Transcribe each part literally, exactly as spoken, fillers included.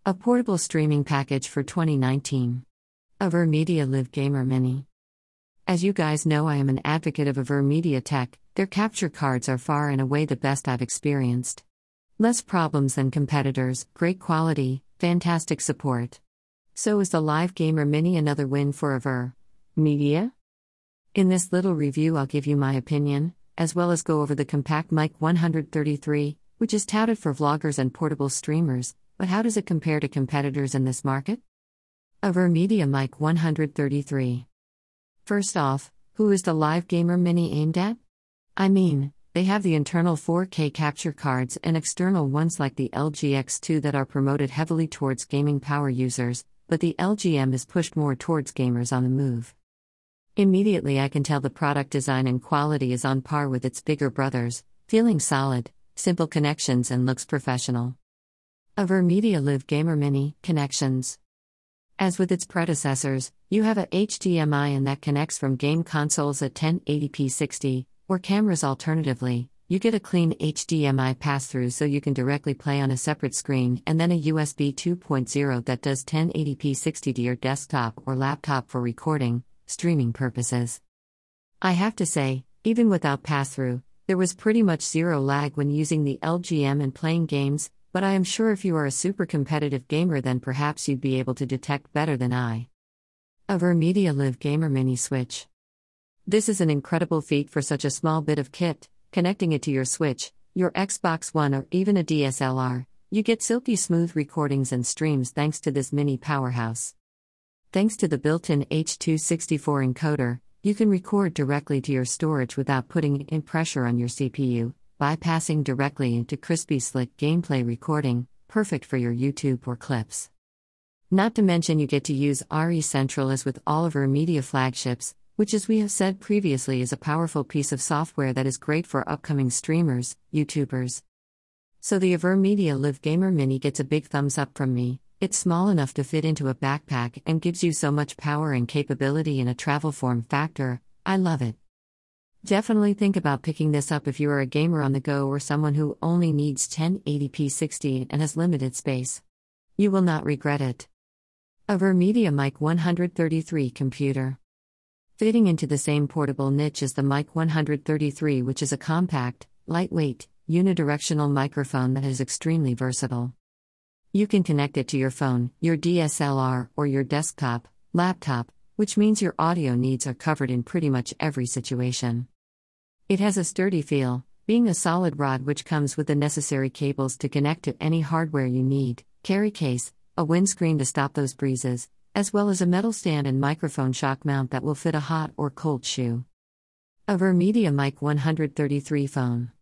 A portable streaming package for twenty nineteen. Avermedia Live Gamer Mini. As you guys know, I am an advocate of Avermedia tech. Their capture cards are far and away the best I've experienced. Less problems than competitors, great quality, fantastic support. So is the Live Gamer Mini another win for Avermedia? In this little review I'll give you my opinion, as well as go over the Compact Mic one thirty-three, which is touted for vloggers and portable streamers, but how does it compare to competitors in this market? Avermedia Mic one thirty-three. First off, who is the Live Gamer Mini aimed at? I mean, they have the internal four K capture cards and external ones like the L G X two that are promoted heavily towards gaming power users, but the L G M is pushed more towards gamers on the move. Immediately I can tell the product design and quality is on par with its bigger brothers, feeling solid, simple connections and looks professional. Avermedia Live Gamer Mini connections. As with its predecessors, you have a H D M I and that connects from game consoles at ten eighty p sixty, or cameras. Alternatively, you get a clean H D M I pass-through so you can directly play on a separate screen, and then a U S B two point oh that does ten eighty p sixty to your desktop or laptop for recording, streaming purposes. I have to say, even without pass-through, there was pretty much zero lag when using the L G M and playing games, but I am sure if you are a super competitive gamer then perhaps you'd be able to detect better than I. Avermedia Live Gamer Mini Switch. This is an incredible feat for such a small bit of kit. Connecting it to your Switch, your Xbox One or even a D S L R, you get silky smooth recordings and streams thanks to this mini powerhouse. Thanks to the built-in H two sixty-four encoder, you can record directly to your storage without putting in pressure on your C P U, bypassing directly into crispy slick gameplay recording, perfect for your YouTube or clips. Not to mention you get to use R E Central as with all of Avermedia flagships, which as we have said previously is a powerful piece of software that is great for upcoming streamers, YouTubers. So the Avermedia Live Gamer Mini gets a big thumbs up from me. It's small enough to fit into a backpack and gives you so much power and capability in a travel form factor. I love it. Definitely think about picking this up if you are a gamer on the go or someone who only needs ten eighty p sixty and has limited space. You will not regret it. Avermedia Mic one thirty-three Computer. Fitting into the same portable niche as the Mic one thirty-three, which is a compact, lightweight, unidirectional microphone that is extremely versatile. You can connect it to your phone, your D S L R, or your desktop, laptop, which means your audio needs are covered in pretty much every situation. It has a sturdy feel, being a solid rod which comes with the necessary cables to connect to any hardware you need, carry case, a windscreen to stop those breezes, as well as a metal stand and microphone shock mount that will fit a hot or cold shoe. Avermedia Mic one thirty-three Phone.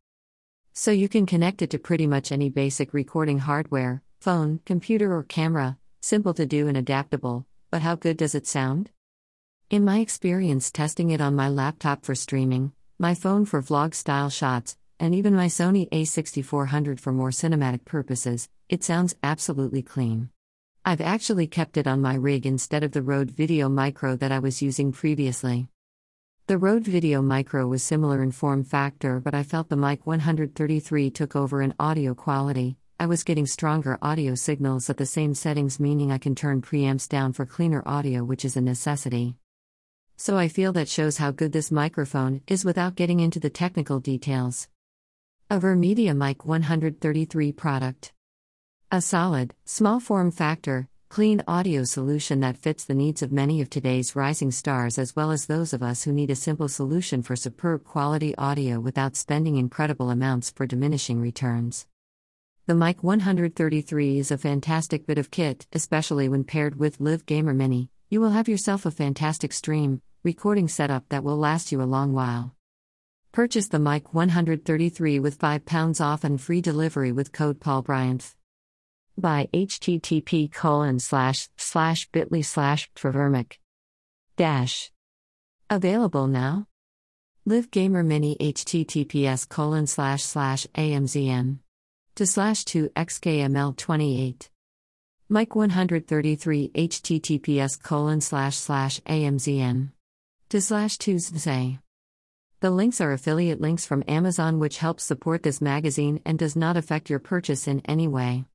So you can connect it to pretty much any basic recording hardware, phone, computer or camera, simple to do and adaptable, but how good does it sound? In my experience testing it on my laptop for streaming, my phone for vlog-style shots, and even my Sony A sixty-four hundred for more cinematic purposes, it sounds absolutely clean. I've actually kept it on my rig instead of the Rode Video Micro that I was using previously. The Rode Video Micro was similar in form factor, but I felt the Mic one thirty-three took over in audio quality. I was getting stronger audio signals at the same settings, meaning I can turn preamps down for cleaner audio, which is a necessity. So I feel that shows how good this microphone is without getting into the technical details. Avermedia Mic one thirty-three Product. A solid, small form factor, clean audio solution that fits the needs of many of today's rising stars as well as those of us who need a simple solution for superb quality audio without spending incredible amounts for diminishing returns. The Mic one thirty-three is a fantastic bit of kit, especially when paired with Live Gamer Mini. You will have yourself a fantastic stream, recording setup that will last you a long while. Purchase the Mic one thirty-three with five pounds off and free delivery with code Paul Bryant. By http colon slash slash bit.ly slash Avermic. Dash. Available now. Live Gamer Mini https colon slash slash amzn. To slash two xkml twenty-eight. Mic one thirty-three https colon slash slash amzn. To slash two zay. The links are affiliate links from Amazon which helps support this magazine and does not affect your purchase in any way.